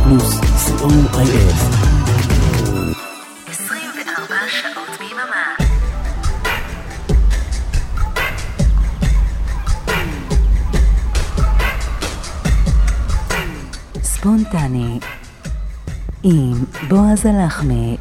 פלוס, co.il. 24 שעות ביממה. ספונטני עם בועז הלחמי.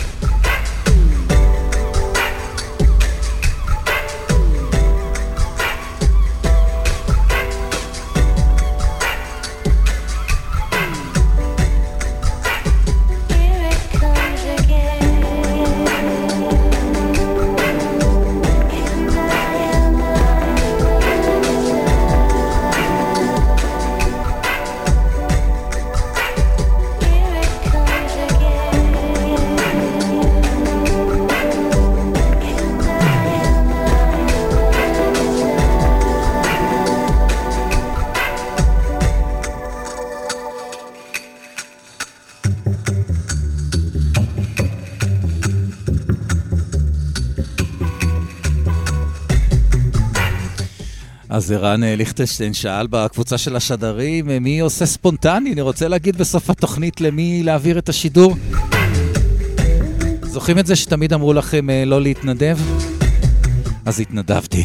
אז ערן ליכטנשטיין שאל בקבוצה של השדרים, מי עושה ספונטני? אני רוצה להגיד בסוף התוכנית למי להעביר את השידור. זוכרים את זה שתמיד אמרו לכם לא להתנדב? אז התנדבתי.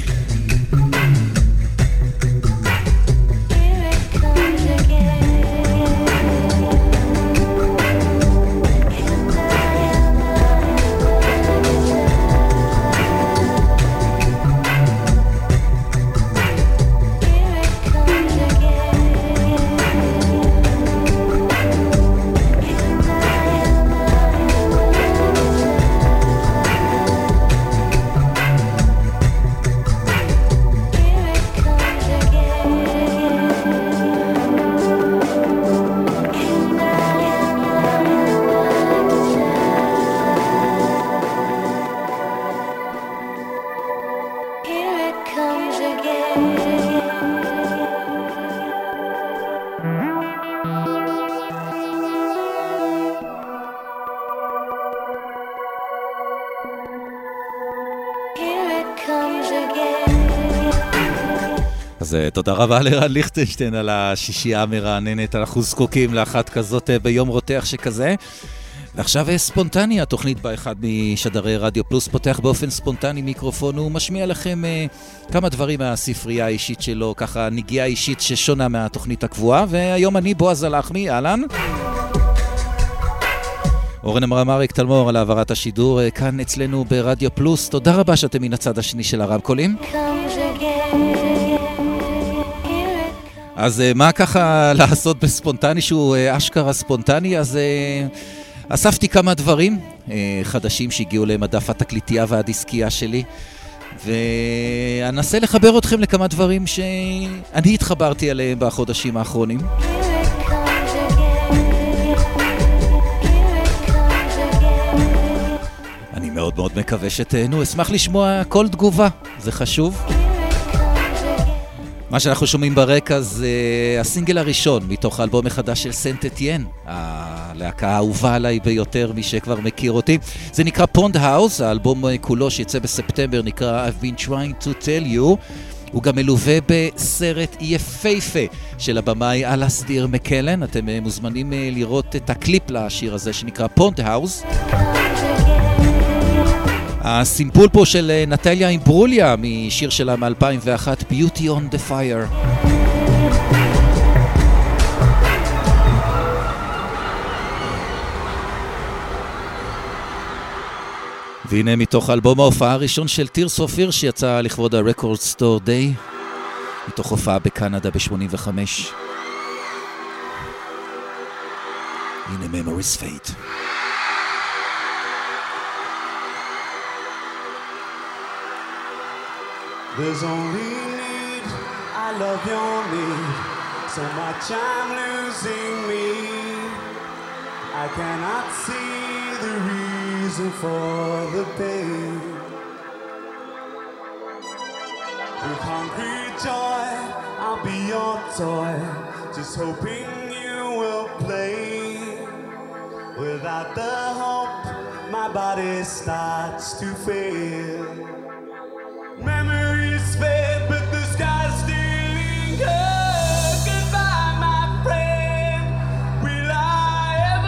אז תודה רבה לרן ליכטנשטיין על השישייה המרעננת. אנחנו זקוקים לאחת כזאת ביום רותח שכזה. ועכשיו ספונטני, התוכנית באחד משדרי רדיו פלוס פותח באופן ספונטני מיקרופון, הוא משמיע לכם כמה דברים מהספרייה האישית שלו, ככה נגיעה אישית ששונה מהתוכנית הקבועה. והיום אני בועז הלחמי, אהלן. אורן אמרמריק תלמור על העברת השידור כאן אצלנו ברדיו פלוס. תודה רבה שאתם מן הצד השני של הרמקולים. אז מה ככה לעשות בספונטני שהוא אשכרה ספונטני? אז אספתי כמה דברים חדשים שהגיעו למדף התקליטייה והדיסקייה שלי, ואנסה לחבר אתכם לכמה דברים שאני התחברתי עליהם בחודשים האחרונים. אני מאוד מאוד מקווה שתהנו, אשמח לשמוע כל תגובה, זה חשוב. מה שאנחנו שומעים ברקע זה הסינגל הראשון מתוך האלבום החדש של סנט אתיין, הלהקה האהובה עליי ביותר, מי שכבר מכיר אותי. זה נקרא פונד האוס, האלבום כולו שיצא בספטמבר נקרא I've been trying to tell you. הוא גם מלווה בסרט יפהפה של הבמאי אלסטיר מקלן. אתם מוזמנים לראות את הקליפ לשיר הזה שנקרא פונד האוס. הסימפול פה של נטליה אימברוליה משיר שלה מ-2001, Beauty on the Fire. והנה מתוך אלבום ההופעה הראשון של Tears of Fear שיצא לכבוד ה-Record Store Day, מתוך הופעה בקנדה ב-85. הנה Memories Fade. There's only need, I love your need, so much I'm losing me. I cannot see the reason for the pain. With hungry joy, I'll be your toy, just hoping you will play. Without the hope, my body starts to fail. Memories fade, but the sky still lingers. Goodbye, my friend. Will I ever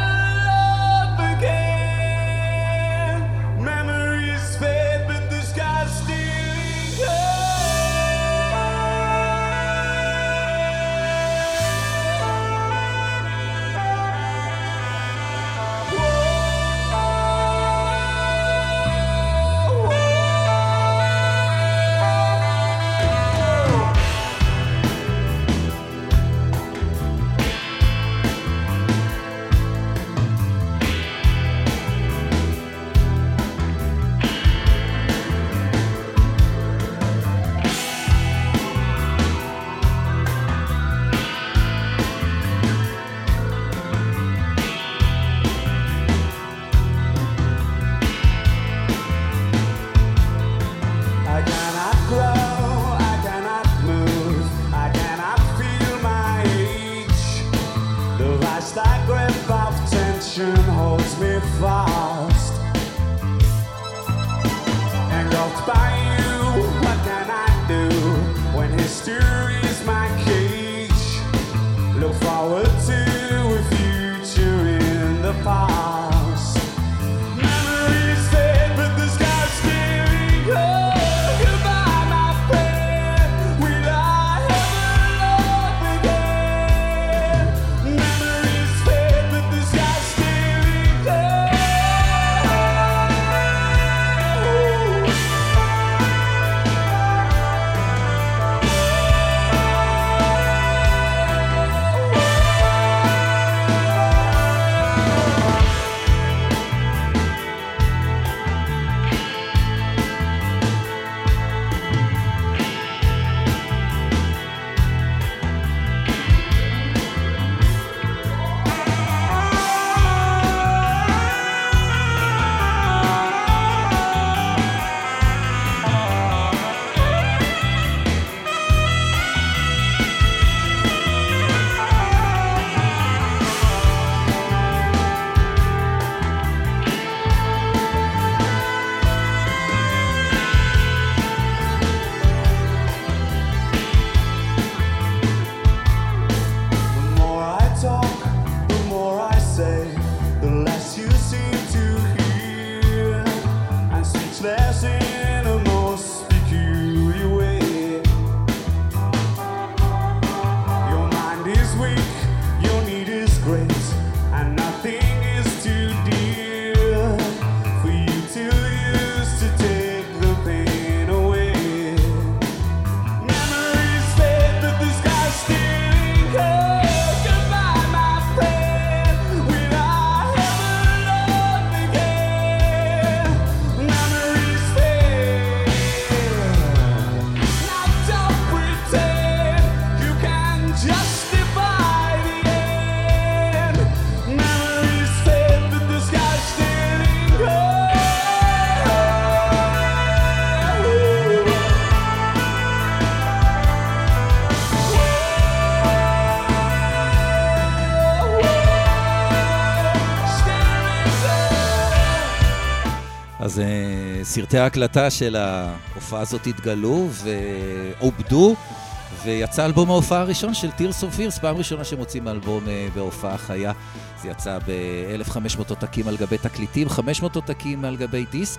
סרטי ההקלטה של ההופעה הזאת התגלו ועובדו, ויצא אלבום ההופעה הראשון של Tears of Fears, פעם ראשונה שמוצאים אלבום בהופעה חיה. זה יצא ב-1500 עותקים על גבי תקליטים, 500 עותקים על גבי דיסק.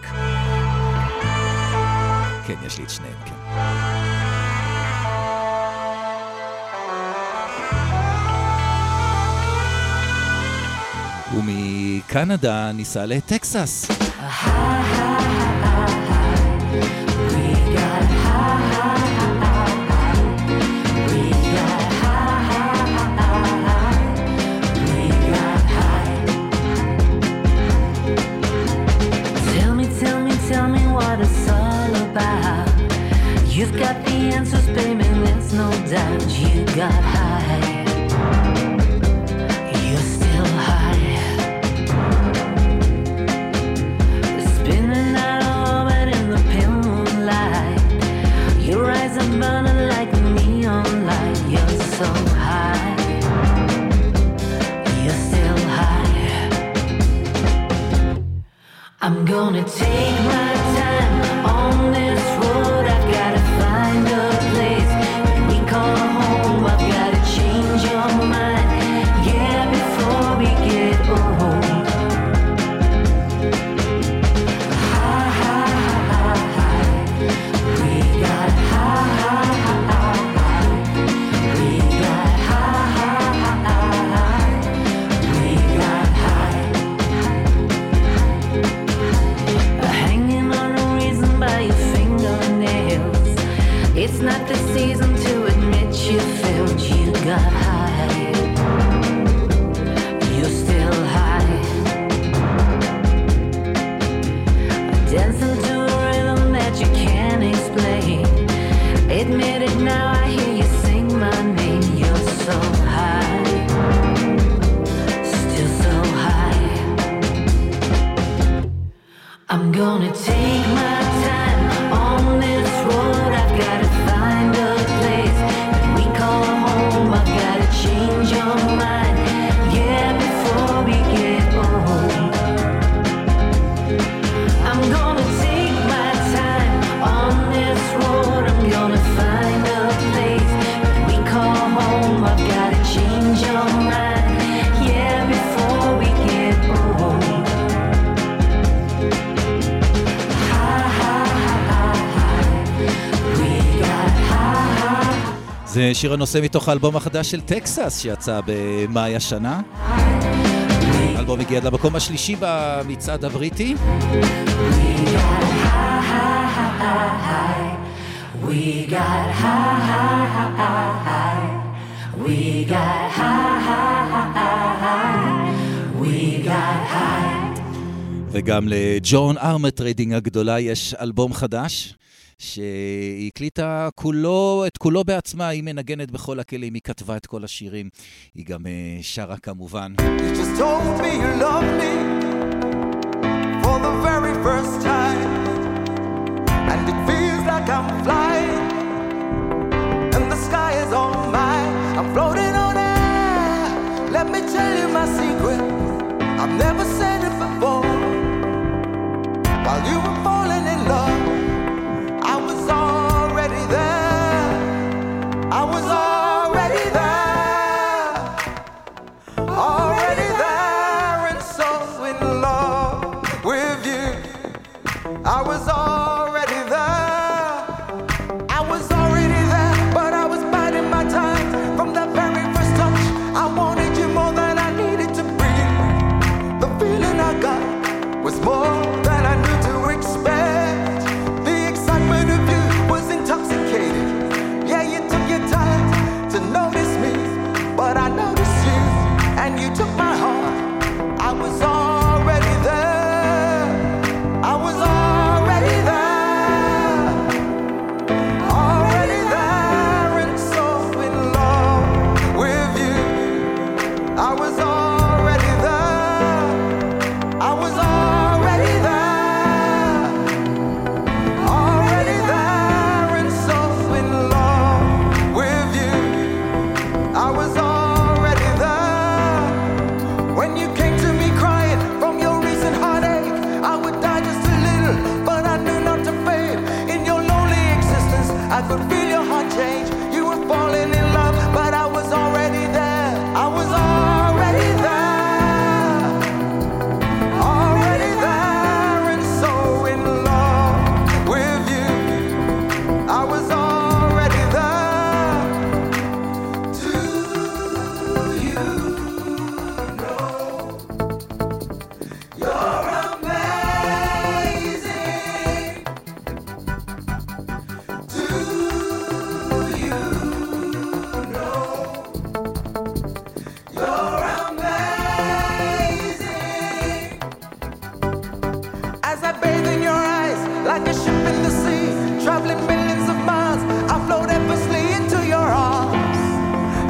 כן, יש לי את שניהם, כן. ומקנדה ניסה לטקסס. Tell me what it's all about. You've got the answers, baby, there's no doubt. You got high. You're still high. Spinning out of orbit in the pale moonlight. Your eyes are burning like a neon light. You're so high. You're still high. I'm gonna take my time on this road. I've gotta find a place when we call home. I've gotta change your mind, yeah, before we get old. High, high, high, high. We got high, high, high, high. We got high, high, high, high. We got high. Hanging on a reason by your fingernails. It's not the season to admit you failed. You got high. You're still high. Dancing to a rhythm that you can't explain. Admit it now, I hear you sing my name. You're so high. Still so high. I'm gonna take my time on this road. I've gotta find a place that we call home. I've gotta change your mind, yeah, before we get old. I'm gonna take my time on this road. I'm gonna find a place that we call home. I've gotta change your mind, yeah, before we get old. זה שיר הנושא מתוך האלבום החדש של טקסס שיצא במאי השנה. האלבום הגיע למקום השלישי במצעד הבריטי. וגם לג'ון ארמטריידינג הגדולה יש אלבום חדש שהיא הקליטה את כולו בעצמה, היא מנגנת בכל הכלים, היא כתבה את כל השירים, היא גם שרה כמובן. You just told me you love me for the very first time, and it feels like I'm flying and the sky is all mine. I'm floating on air. Let me tell you my secret, I've never said it before. While you were falling in love, I was already there. I was already there. Already there and so in love with you. I was already there. I was already there, but I was biding my time. From that very first touch, I wanted you more than I needed to breathe. The feeling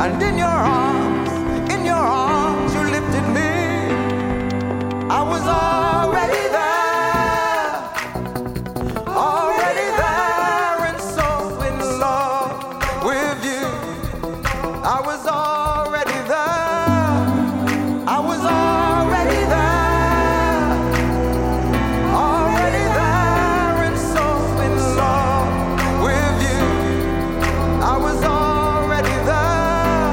And in your arms, you lifted me. I was already there, and so in love with you. I was already there, I was already there, and so in love with you. I was already there.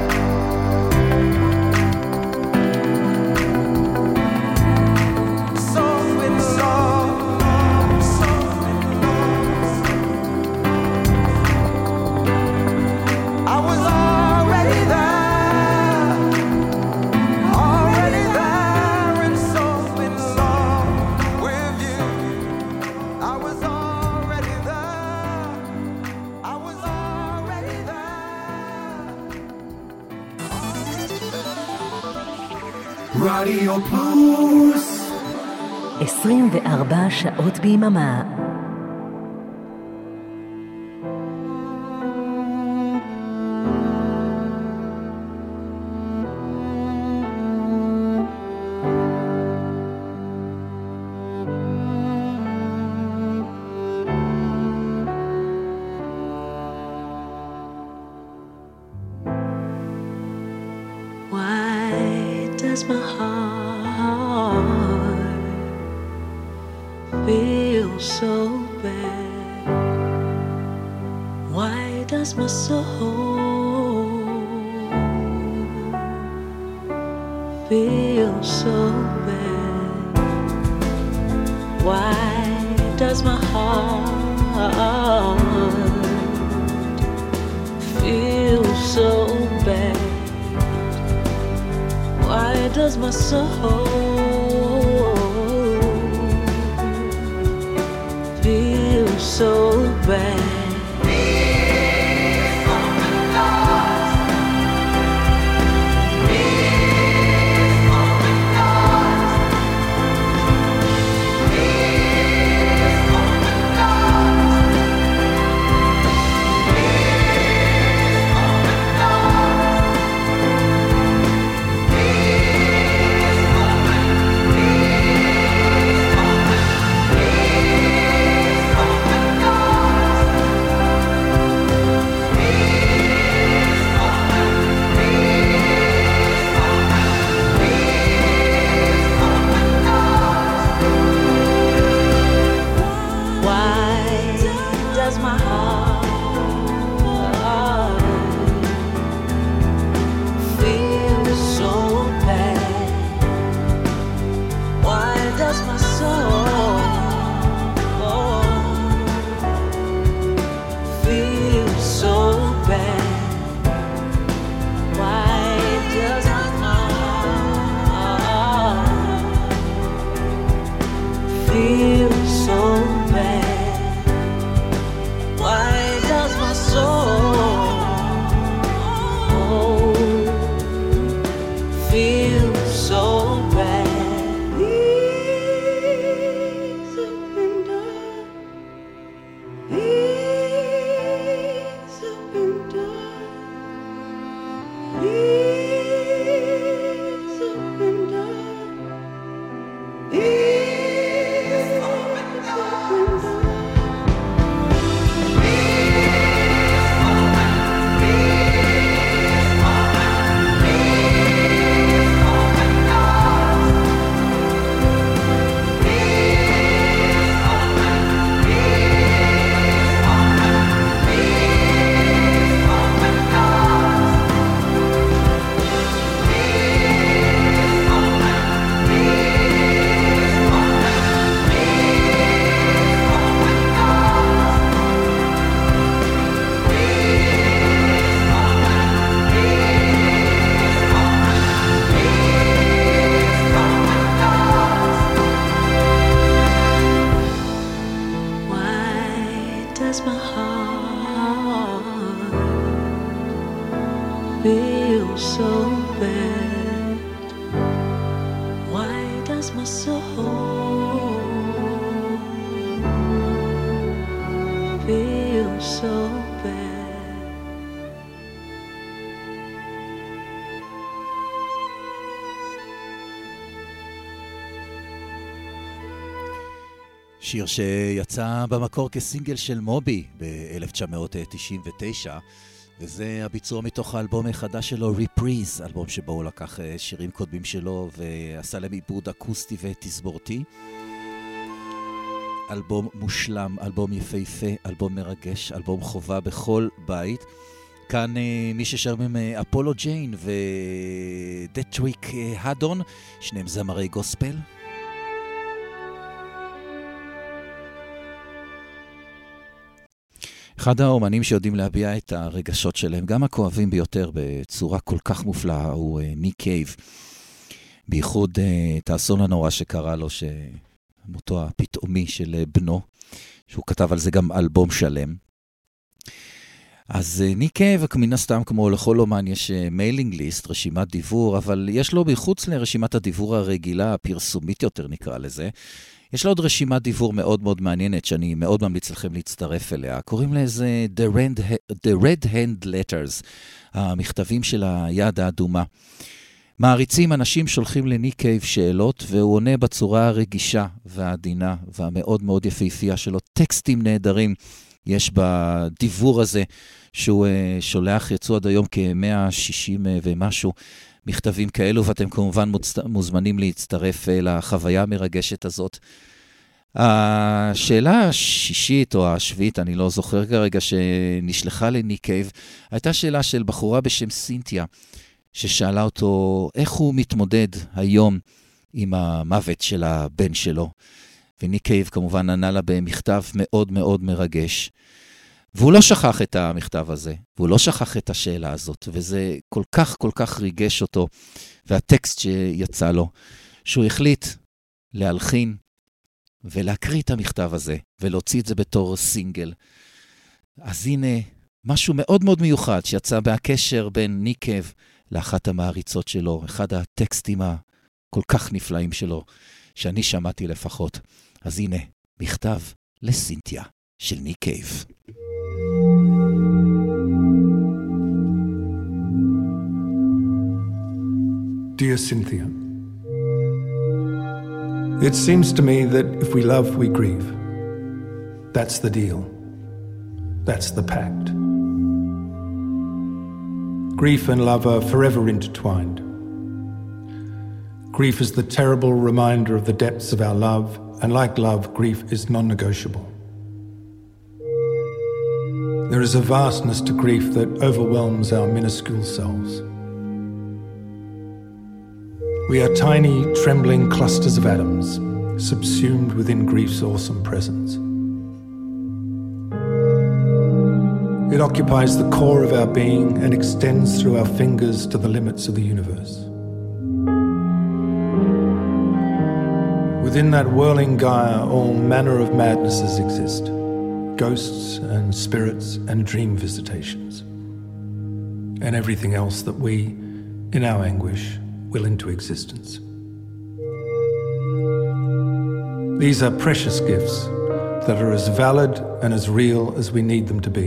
So in love, so in love. I was already there, and so in love with you. I was already there, I was already there. רדיו פלוס 24 שעות ביממה. Why does my heart feel so bad? Why does my soul feel so bad? Why does my heart feel so bad? Why does my soul feel so bad? שיר שיצא במקור כסינגל של מובי ב-1999, וזה הביצוע מתוך האלבום החדש שלו, Reprise, אלבום שבו הוא לקח שירים קודמים שלו ועשה להם עיבוד אקוסטי ותסבורתי. אלבום מושלם, אלבום יפהפה, אלבום מרגש, אלבום חובה בכל בית. כאן מי ששרים אפולו ג'יין ודטריק הדון, שניהם זמרי גוספל. אחד האומנים שיודעים להביע את הרגשות שלהם, גם הכואבים ביותר בצורה כל כך מופלאה, הוא ניק קייב. בייחוד את האסון הנורא שקרה לו, מותו הפתאומי של בנו, שהוא כתב על זה גם אלבום שלם. אז ניק קייב, מן הסתם כמו לכל אומן, יש מיילינג ליסט, רשימת דיבור, אבל יש לו בחוץ לרשימת הדיבור הרגילה, הפרסומית יותר נקרא לזה, יש לו עוד רשימת דיבור מאוד מאוד מעניינת, שאני מאוד ממליץ לכם להצטרף אליה. קוראים לזה The Red Hand Letters, המכתבים של היד האדומה. מעריצים, אנשים שולחים לניק קייב שאלות, והוא עונה בצורה הרגישה והעדינה והמאוד מאוד יפהפייה שלו. טקסטים נהדרים יש בדיבור הזה, שהוא שולח, יצאו עד היום כ-160 ומשהו מכתבים כאלו, ואתם כמובן מוזמנים להצטרף לחוויה המרגשת הזאת. השאלה השישית או השביעית, אני לא זוכר כרגע, שנשלחה לניק קייב, הייתה שאלה של בחורה בשם סינתיה, ששאלה אותו איך הוא מתמודד היום עם המוות של הבן שלו. וניק קייב כמובן ענה לה במכתב מאוד מאוד מרגש. והוא לא שכח את המכתב הזה, והוא לא שכח את השאלה הזאת, וזה כל כך כל כך ריגש אותו, והטקסט שיצא לו, שהוא החליט להלחין ולהקריא את המכתב הזה, ולהוציא את זה בתור סינגל. אז הנה משהו מאוד מאוד מיוחד שיצא בהקשר בין ניק קייב לאחת המעריצות שלו, אחד הטקסטים הכל כך נפלאים שלו, שאני שמעתי לפחות. אז הנה, מכתב לסינתיה של ניק קייב. Dear Cynthia, it seems to me that if we love, we grieve. That's the deal. That's the pact. Grief and love are forever intertwined. Grief is the terrible reminder of the depths of our love, and like love, grief is non-negotiable. There is a vastness to grief that overwhelms our minuscule selves. We are tiny, trembling clusters of atoms, subsumed within grief's awesome presence. It occupies the core of our being and extends through our fingers to the limits of the universe. Within that whirling Gaia, all manner of madnesses exist, ghosts and spirits and dream visitations, and everything else that we, in our anguish, will into existence. These are precious gifts that are as valid and as real as we need them to be.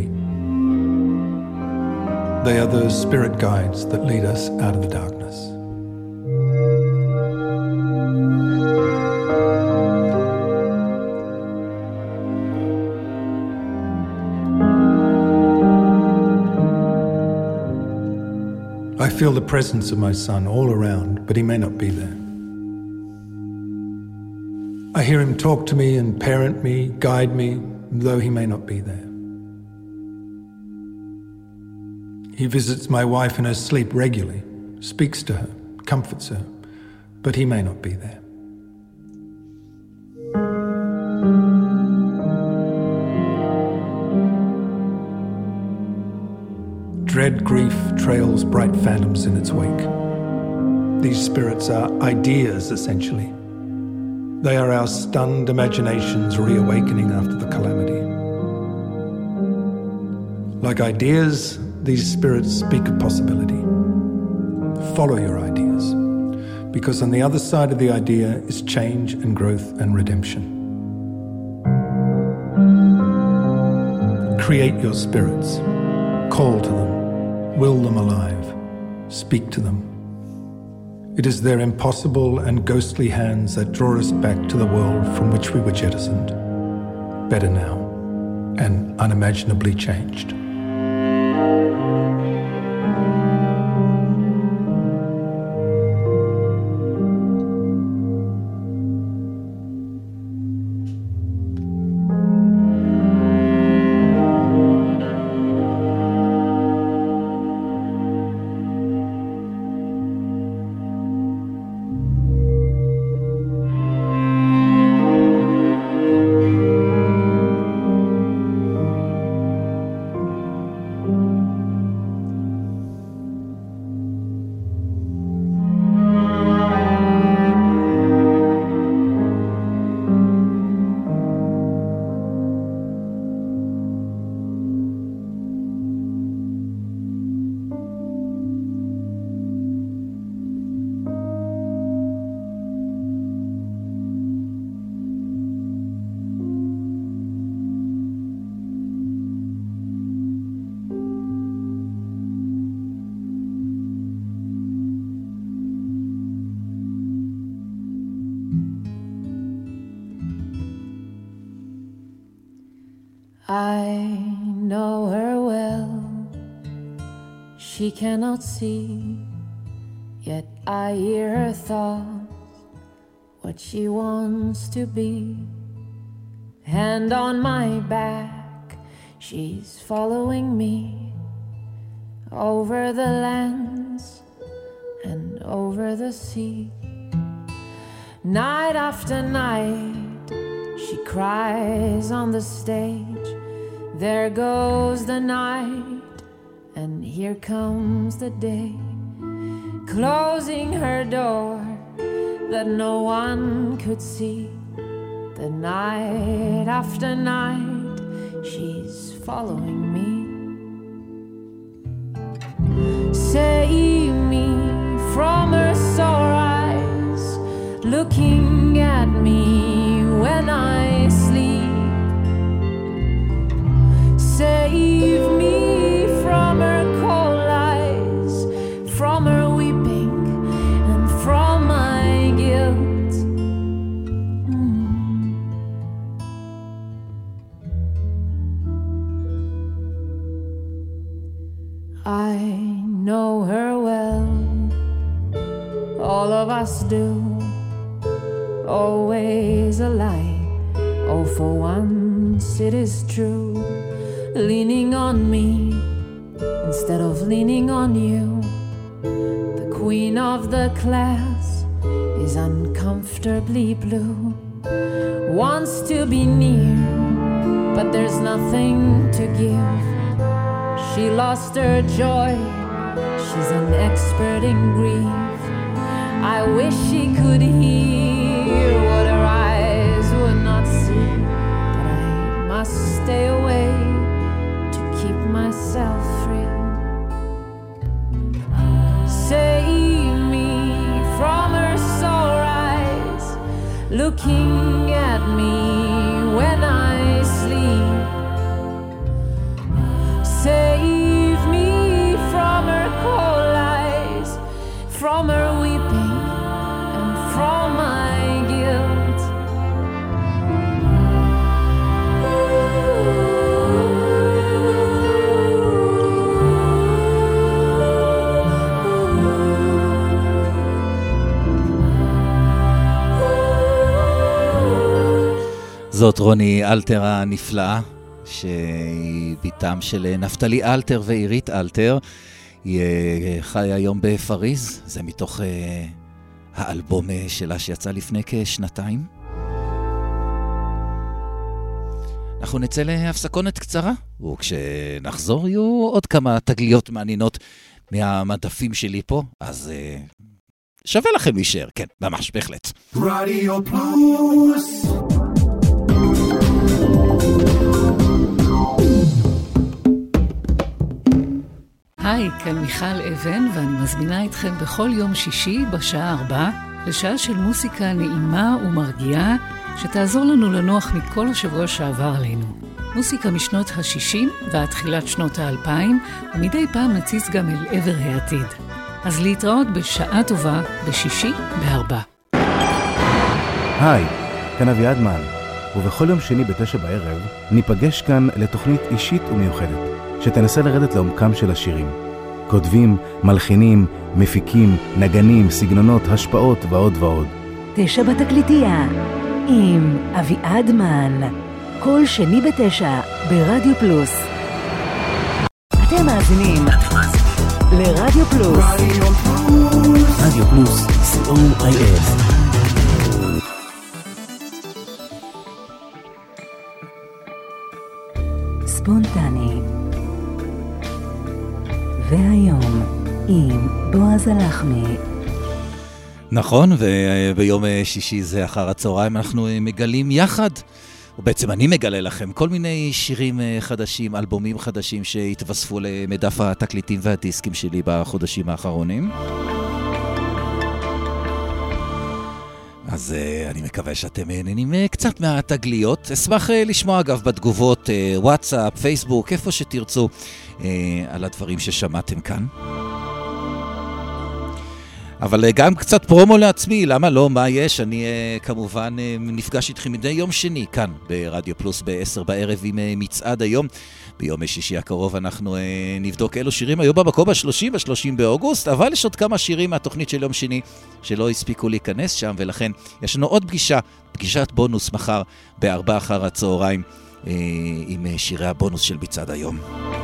They are those spirit guides that lead us out of the darkness. I feel the presence of my son all around, but he may not be there. I hear him talk to me and parent me, guide me, though he may not be there. He visits my wife in her sleep regularly, speaks to her, comforts her, but he may not be there. Dread grief trails bright phantoms in its wake. These spirits are ideas, essentially. They are our stunned imaginations reawakening after the calamity. Like ideas, these spirits speak of possibility. Follow your ideas, because on the other side of the idea is change and growth and redemption. Create your spirits, call to them, will them alive, speak to them. It is their impossible and ghostly hands that draw us back to the world from which we were jettisoned. better now and unimaginably changed. I know her well. She cannot see, yet I hear her thoughts, what she wants to be. Hand on my back, she's following me over the lands and over the sea. Night after night, she cries on the stage. There goes the night, and here comes the day, closing her door that no one could see. The night after night, she's following me. Save me from her sore eyes, looking at me when I sleep. Save me from her cold eyes, from her weeping and from my guilt. I know her well, all of us do. Always a lie, oh for once it is true. Leaning on me instead of leaning on you. The queen of the class is uncomfortably blue. Wants to be near, but there's nothing to give. She lost her joy, she's an expert in grief. I wish she could hear what her eyes would not see, but I must stay away to keep myself free. Save me from her sore eyes, looking at me when I sleep. Save me from her cold eyes, from her weeping and from my guilt. זאת רוני אלתר הנפלאה, שהיא ביתם של נפתלי אלתר ועירית אלתר. היא חיה היום בפריז, זה מתוך האלבום שלה שיצא לפני כשנתיים. אנחנו נצא להפסקונת קצרה, וכשנחזור יהיו עוד כמה תגליות מעניינות מהמדפים שלי פה, אז שווה לכם להישאר, כן, ממש, בהחלט. רדיו פלוס. היי, כאן מיכל אבן, ואני מזמינה אתכם בכל יום שישי בשעה 4 לשעה של מוסיקה נעימה ומרגיעה שתעזור לנו לנוח מכל השבוע שעבר עלינו. מוסיקה משנות ה-60 ועד תחילת שנות ה-2000, ומדי פעם נציץ גם אל עבר העתיד. אז להתראות בשעה טובה בשישי ב4. היי, כאן אביעד מן. ובכל יום שני ב9 בערב ניפגש כאן לתוכנית אישית ומיוחדת, שתנסה לרדת לעומקם של השירים. כותבים, מלחינים, מפיקים, נגנים, סגנונות, השפעות ועוד ועוד. 9 בתקליטייה, עם אביעד מן. כל שני ב9 ברדיו פלוס. אתם מאזינים לרדיו פלוס. רדיו פלוס, COIF. ספונטני. והיום עם בועז הלחמי. נכון, וביום שישי זה אחר הצהריים אנחנו מגלים יחד, ובעצם אני מגלה לכם כל מיני שירים חדשים, אלבומים חדשים שהתווספו למדף התקליטים והדיסקים שלי בחודשים האחרונים. אז אני מקווה שאתם נהנים קצת מהתגליות. אשמח לשמוע אגב בתגובות, וואטסאפ, פייסבוק, איפה שתרצו, על הדברים ששמעתם כאן. אבל גם קצת פרומו לעצמי, למה לא, מה יש? אני כמובן נפגש איתכם מדי יום שני כאן ברדיו פלוס ב10 בערב עם מצעד היום. ביום שישי הקרוב אנחנו נבדוק אילו שירים היו במקום ב-30 באוגוסט, אבל יש עוד כמה שירים מהתוכנית של יום שני שלא הספיקו להיכנס שם, ולכן יש לנו עוד פגישת בונוס מחר ב4 אחר הצהריים עם שירי הבונוס של מצעד היום.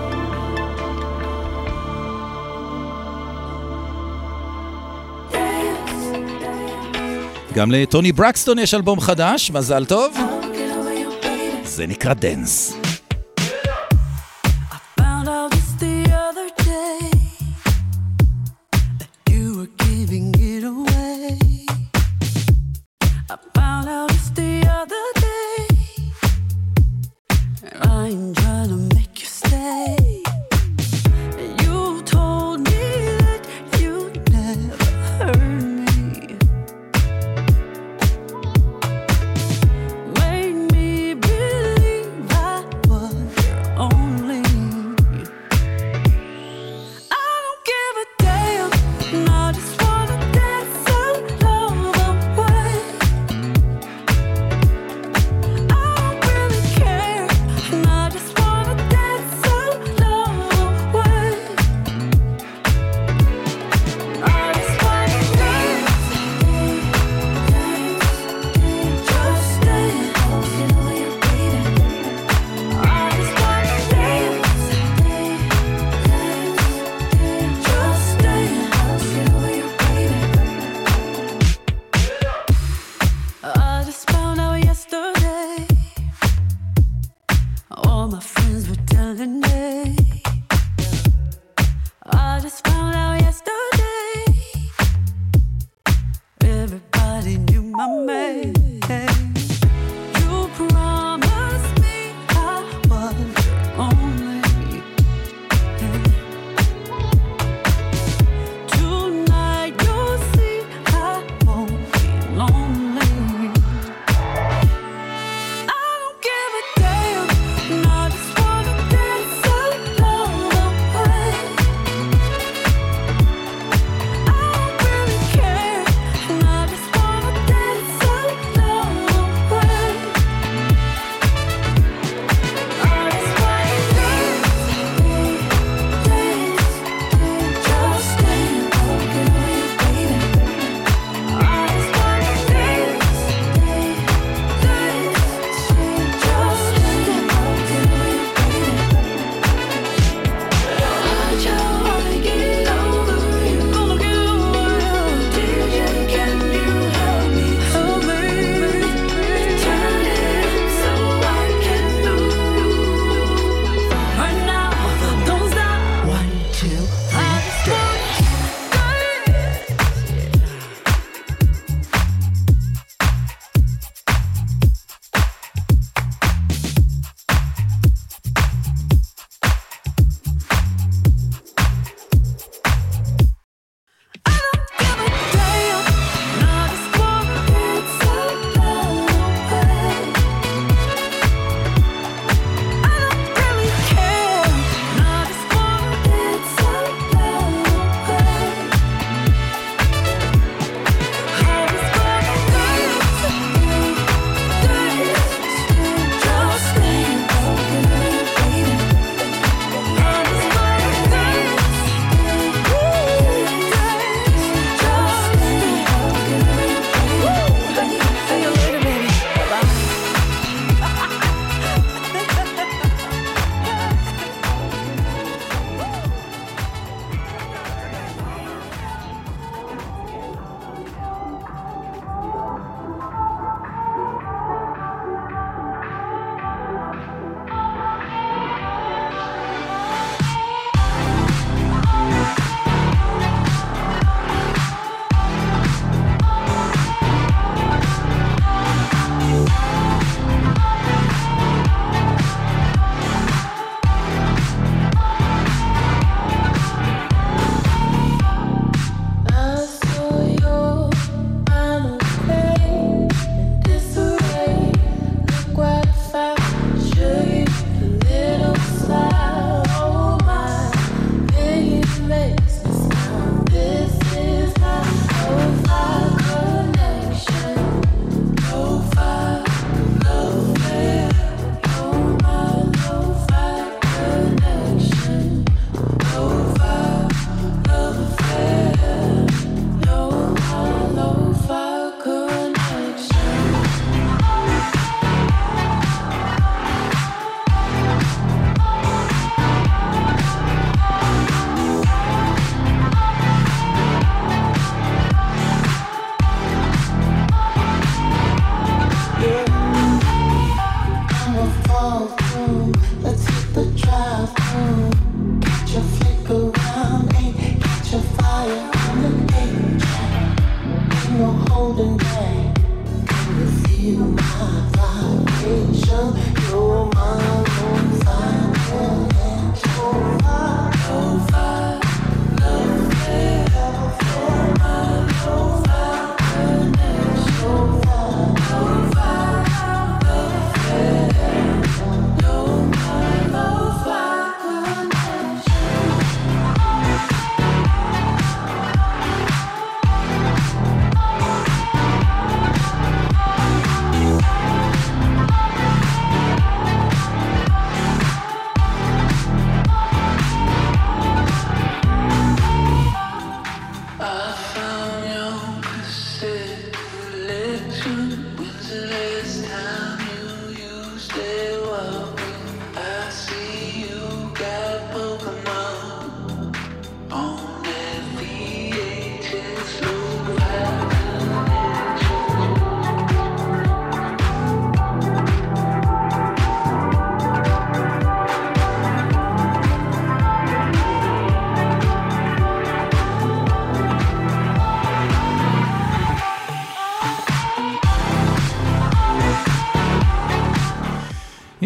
גם לטוני ברקסטון יש אלבום חדש, מזל טוב. זה נקרא דנס.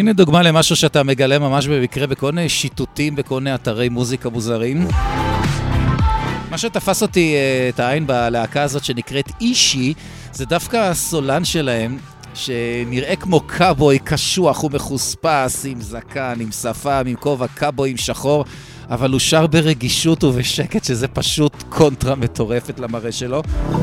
הנה דוגמה למשהו שאתה מגלה ממש במקרה בכל מיני שיטוטים, בכל מיני אתרי מוזיקה מוזרים. מה שתפס אותי את העין בלהקה הזאת שנקראת אישי, זה דווקא הסולן שלהם, שנראה כמו קאבוי קשוח ומחוספס, עם זקן, עם שפם, עם כובע קאבוי עם שחור, אבל הוא שר ברגישות ובשקט, שזה פשוט קונטרה מטורפת למראה שלו.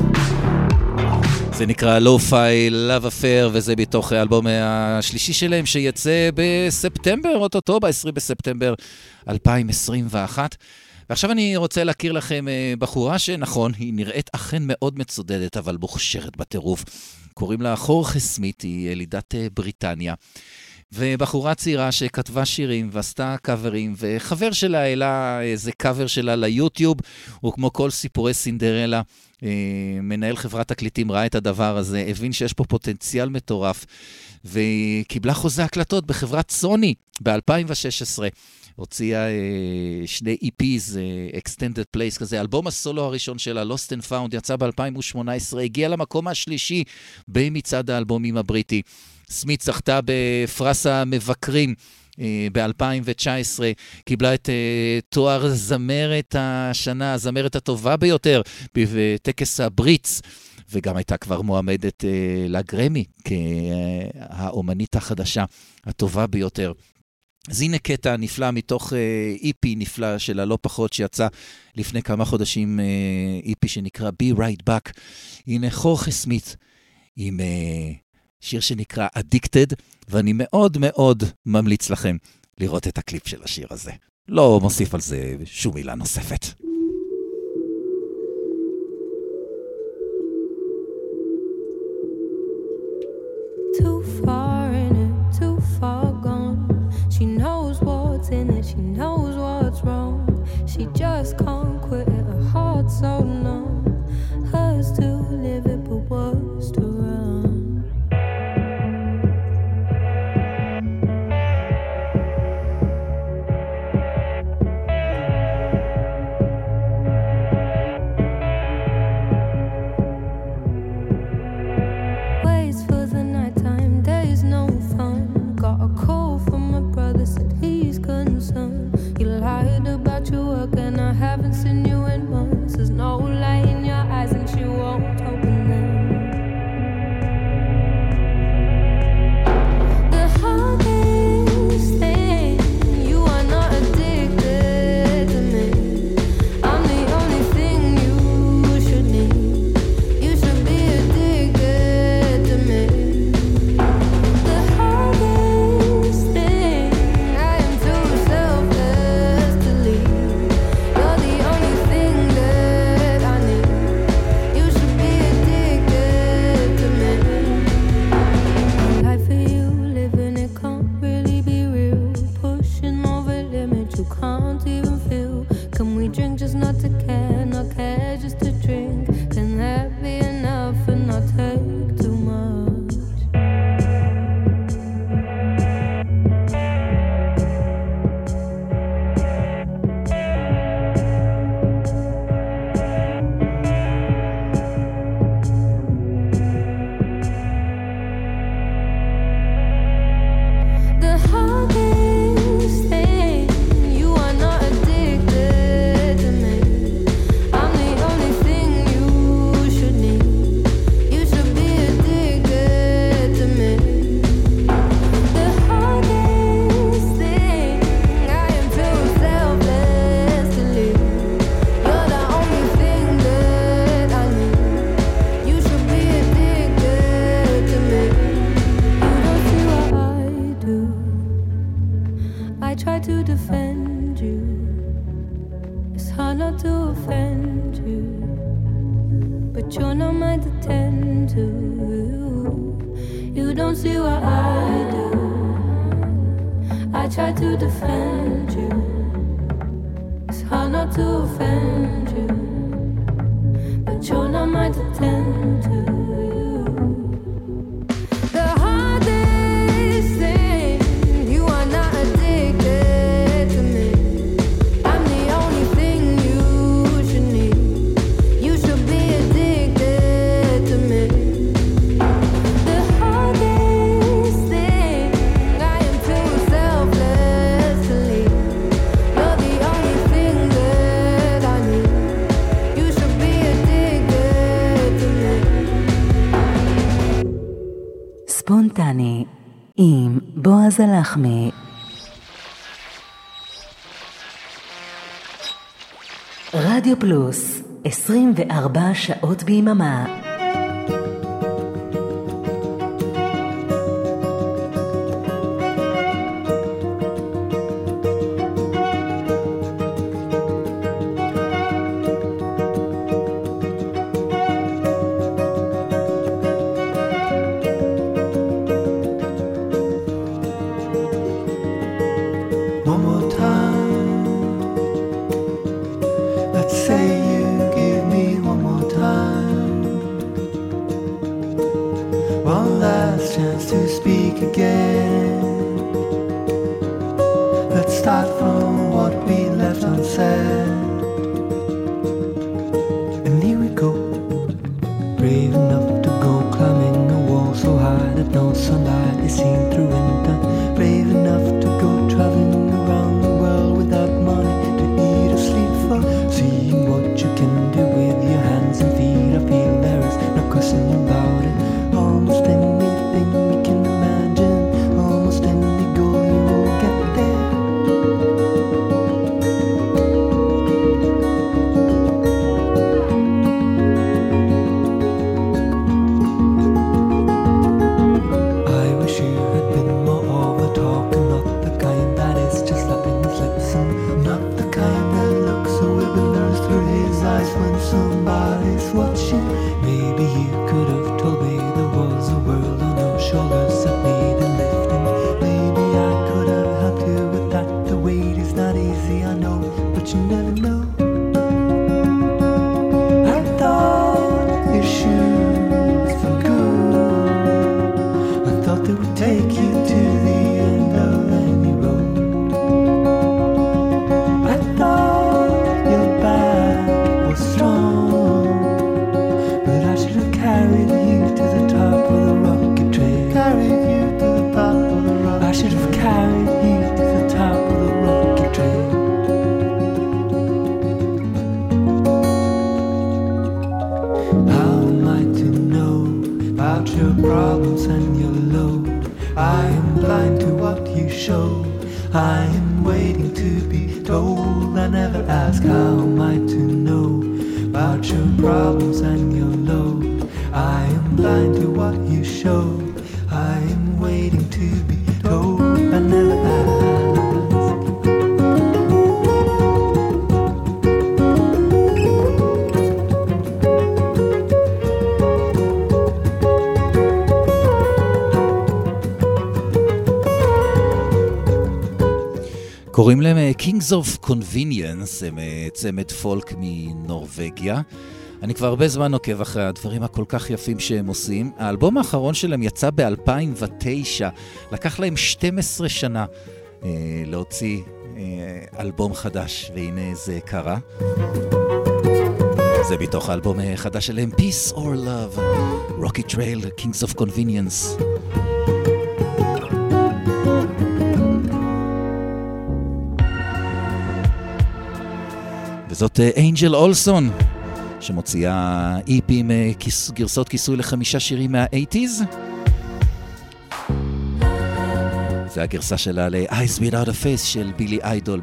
זה נקרא Lo-Fi Love Affair, וזה בתוך האלבום השלישי שלהם, שיצא בספטמבר, אוטוטו, ב-20 בספטמבר 2021. ועכשיו אני רוצה להכיר לכם בחורה שנכון, היא נראית אכן מאוד מצודדת, אבל מוכשרת בטירוף. קוראים לה חורכה סמית, היא ילידת בריטניה. ובחורה צעירה שכתבה שירים ועשתה קאברים, וחבר שלה העלה איזה קאבר שלה ליוטיוב, הוא כמו כל סיפורי סינדרלה, מנהל חברת תקליטים ראה את הדבר הזה, הבין שיש פה פוטנציאל מטורף, וקיבלה חוזה הקלטות בחברת סוני ב-2016, הוציאה שני EPs, Extended Plays כזה, אלבום הסולו הראשון שלה, Lost and Found, יצא ב-2018, הגיע למקום השלישי במצעד האלבומים הבריטי. סמית זכתה בפרס המבקרים ב-2019, קיבלה את תואר זמרת השנה, הזמרת הטובה ביותר, בטקס הבריץ, וגם הייתה כבר מועמדת לגרמי, כהאומנית החדשה הטובה ביותר. אז הנה קטע נפלא מתוך EP נפלא שלה לא פחות שיצא לפני כמה חודשים, EP שנקרא Be Right Back. הנה חורכה סמית עם שיר שנקרא Addicted, ואני מאוד מאוד ממליץ לכם לראות את הקליפ של השיר הזה. לא מוסיף על זה שום מילה נוספת. Too far in it, too far gone. She knows what's in it, she knows what's wrong. She just can't quit it, her heart's so numb. Hers to live it, but worse to run. Waits for the nighttime, there's no fun. Got a call from my brother, said he's concerned. You lied about your work and I haven't seen you in months. There's no light in your eyes and she won't open them. The hardest thing, you are not addicted to me. I'm the only thing you should need. You should be addicted to me. The hardest thing, I am too selfless to leave. You're the only thing that I need. You should be addicted to me. My life for you, living it can't really be real. Pushing over limits you can't even feel. Can we drink just not to care, not care just to drink? Can that be enough and not take too much? The hardest thing, you are not addicted to me. I'm the only thing you should need. You should be addicted to me. The hardest thing, I am too selfless to leave. You're the only thing that I need. You should be addicted to me. You don't see what I do. I try to defend you. It's hard not to offend you, but you're not mine to tend to. You don't see what I do. I try to defend you. It's hard not to offend you, but you're not mine to tend to. The hardest thing, you are not addicted to me. I'm the only thing you should need. You should be addicted to me. The hardest thing, I am too ספונטני עם בועז הלחמי. רדיו פלוס, 24 שעות ביממה. קוראים להם Kings of Convenience, הם צמד פולק מנורווגיה. אני כבר הרבה זמן עוקב אחרי הדברים הכל כך יפים שהם עושים. האלבום האחרון שלהם יצא ב-2009, לקח להם 12 שנה להוציא אלבום חדש, והנה זה קרה. זה בתוך האלבום החדש שלהם, Peace or Love, Rocky Trail, Kings of Convenience. וזאת אנג'ל אולסון, שמוציאה EP עם גרסות כיסוי ל5 שירים מה-80s. זה הגרסה שלה ל-Eyes Without a Face של בילי איידול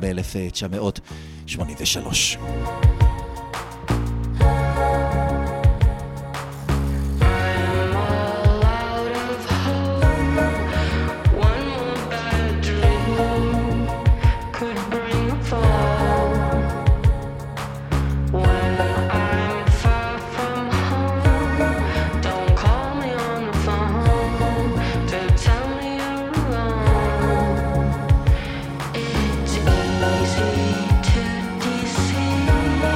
ב-1983. It's easy to deceive.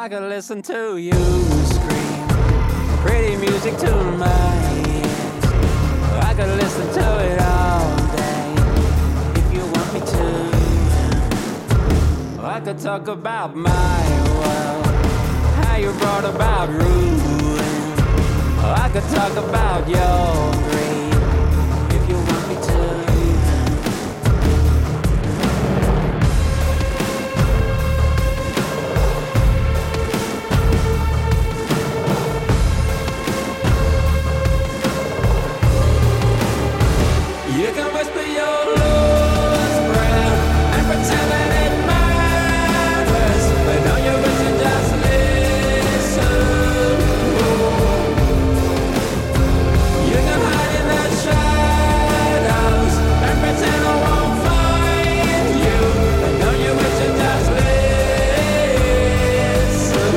I could listen to you scream pretty music to my ears. I could listen to it all day if you want me to. I could talk about my world, how you brought about ruin. I could talk about your greed if you want me to. You can whisper your lost prayer and pretend that it matters, but don't you wish you just listen? You can hide in the shadows and pretend I won't find you, but don't you wish you just listen?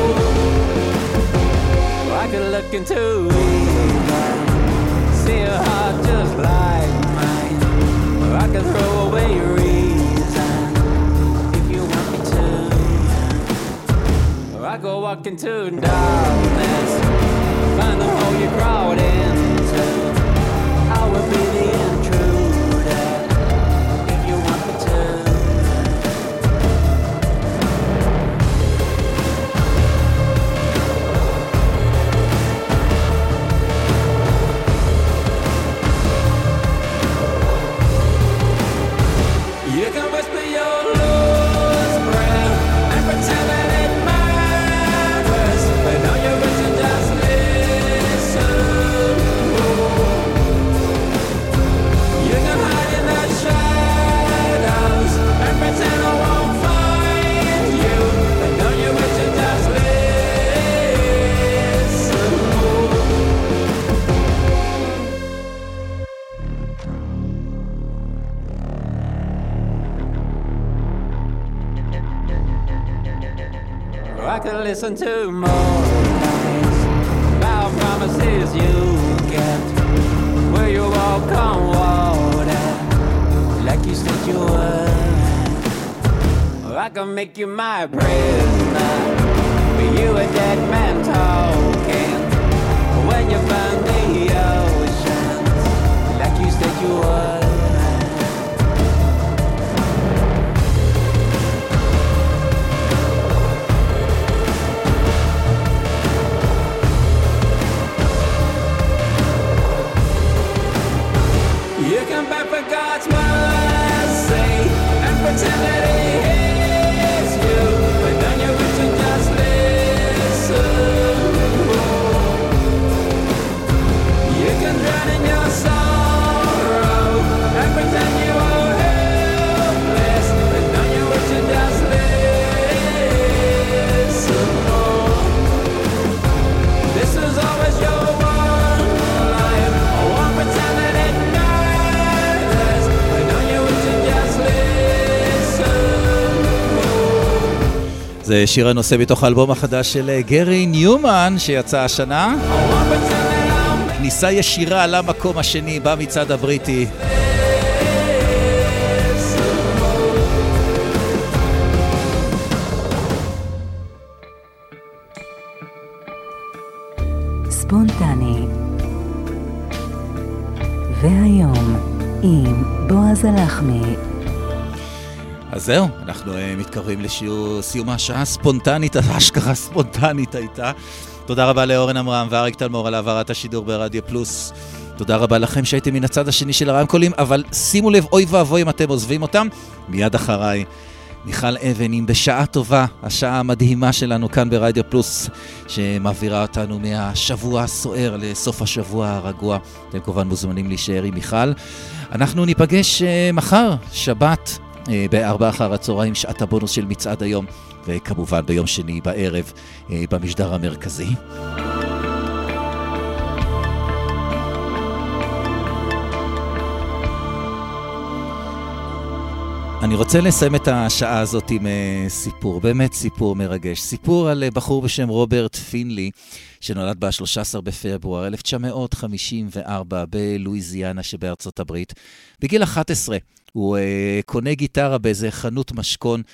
I could look into evil, see a heart just like mine, or I could throw away reason if you want me to, or I could walk into darkness, find the hole you crawled into. I will be the intruder if you want me to. You can whisper your lost prayer and pretend that it matters, but don't you wish you just listen? You can hide in the shadows and pretend I won't find you, but don't you wish you just listen? I could listen to more lies about promises you kept, where you walk on water like you said you would. Or I could make you my prisoner, but you a dead man talking when you burn the oceans like you said you would. You can beg for God's mercy and pretend that He hears you, but don't you wish you just listen? You can drown in your sorrow and pretend you are helpless, but don't you wish you just listen? This is always your one life. I won't pretend that it matters, but don't you wish you just listen? זה שיר הנושא בתוך האלבום החדש של גרי ניומן שיצא השנה. כניסה ישירה למקום השני במצעד הבריטי. ספונטני. והיום עם בועז הלחמי. אז זהו, אנחנו מתקרבים לסיום השעה הספונטנית, האשכרה ספונטנית הייתה. תודה רבה לאורן אמרם ואריק תלמור על העברת השידור ברדיו פלוס. תודה רבה לכם שהייתם מן הצד השני של הרמקולים, אבל שימו לב, אוי ואבוי אם אתם עוזבים אותם. מיד אחריי, מיכל אבן עם בשעה טובה, השעה המדהימה שלנו כאן ברדיו פלוס, שמעבירה אותנו מהשבוע הסוער לסוף השבוע הרגוע. אתם כמובן מוזמנים להישאר עם מיכל. אנחנו ניפגש מחר, שבת, ב4 אחר הצהריים, שעת הבונוס של מצעד היום, וכמובן ביום שני בערב במשדר המרכזי. אני רוצה לסיים את השעה הזאת עם סיפור, באמת סיפור מרגש. סיפור על בחור בשם רוברט פינלי, שנולד ב-13 בפברואר 1954 בלואיזיאנה שבארצות הברית. בגיל 11 הוא קונה גיטרה באיזה חנות משכון,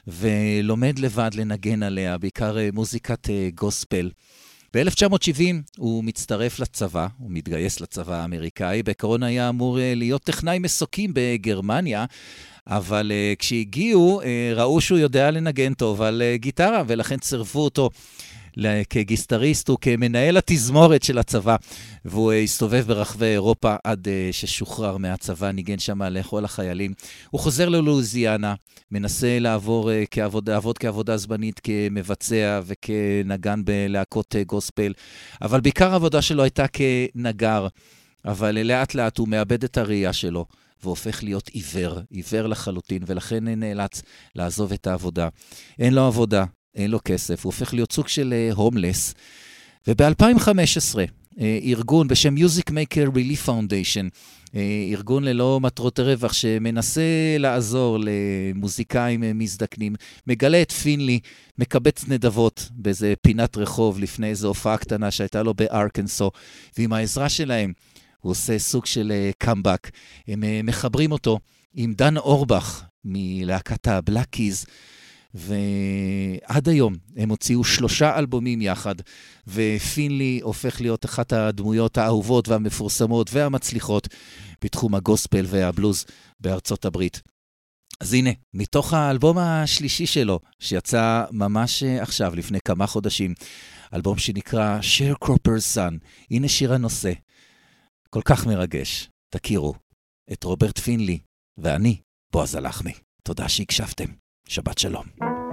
ולומד לבד לנגן עליה, בעיקר מוזיקת גוספל. ב-1970 הוא מצטרף לצבא, הוא מתגייס לצבא האמריקאי, בעקרון היה אמור להיות טכנאי מסוקים בגרמניה, אבל כשהגיעו ראו שהוא יודע לנגן טוב על גיטרה, ולכן צירפו אותו כגיסטריסט וכמנהל התזמורת של הצבא, והוא הסתובב ברחבי אירופה עד ששוחרר מהצבא, ניגן שם לכל החיילים. הוא חוזר ללואיזיאנה, מנסה לעבוד כעבודה זמנית כמבצע וכנגן בלהקות גוספל, אבל בעיקר העבודה שלו הייתה כנגר, אבל לאט לאט הוא מאבד את הראייה שלו, והופך להיות עיוור לחלוטין, ולכן נאלץ לעזוב את העבודה. אין לו עבודה, אין לו כסף, הוא הופך להיות סוג של הומלס. וב-2015, ארגון בשם Music Maker Relief Foundation, ארגון ללא מטרות רווח שמנסה לעזור למוזיקאים מזדקנים, מגלה את פינלי, מקבץ נדבות באיזה פינת רחוב לפני איזו הופעה קטנה שהייתה לו בארקנסו, ועם העזרה שלהם הוא עושה סוג של קאמבק. הם מחברים אותו עם דן אורבך מלהקת הבלק קיז, ועד היום הם הוציאו 3 אלבומים יחד, ופינלי הופך להיות אחת הדמויות האהובות והמפורסמות והמצליחות בתחום הגוספל והבלוז בארצות הברית. אז הנה, מתוך האלבום השלישי שלו, שיצא ממש עכשיו, לפני כמה חודשים, אלבום שנקרא Sharecropper's Son, הנה שיר הנושא, כל כך מרגש. תכירו את רוברט פינלי, ואני, בועז הלחמי. תודה שהקשבתם. שבת שלום.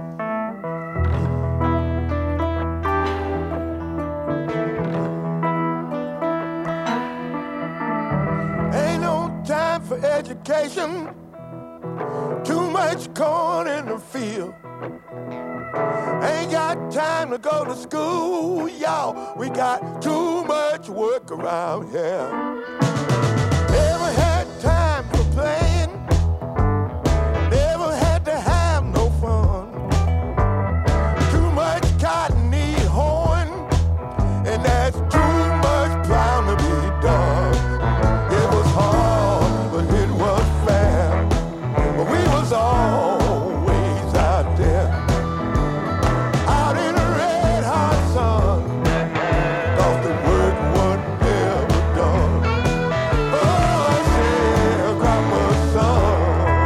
Ain't no time for education, too much corn in the field. Ain't got time to go to school, y'all, we got too much work around here. Never had time for playing, never had to have no fun. Too much cotton need hoeing, and that's too much plowing to be done. It was hard, but it was fair, but we was always out there, out in the red hot sun, 'cause the work was never done. Oh, sharecropper's son.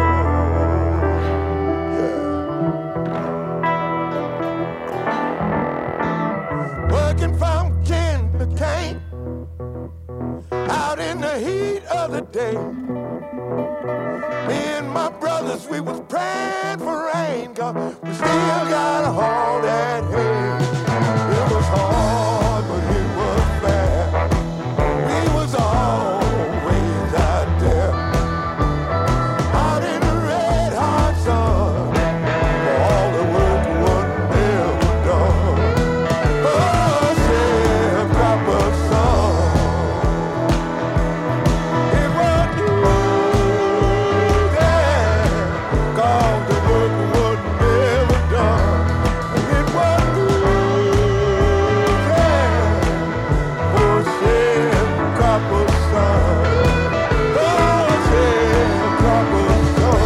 Working from kin to cane, out in the heat of the day. Me and my brothers, we was praying for rain, 'cause we still gotta haul that hay. It was hard, but it was fair. We was always out there, out in the red hot sun, for all the work was never done. Oh, sharecropper's son. It was you there, 'cause the work was never done. It was you there, for sharecropper's son. Oh, sharecropper's son.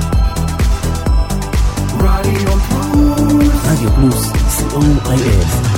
רדיו פלוס, רדיו פלוס, co.il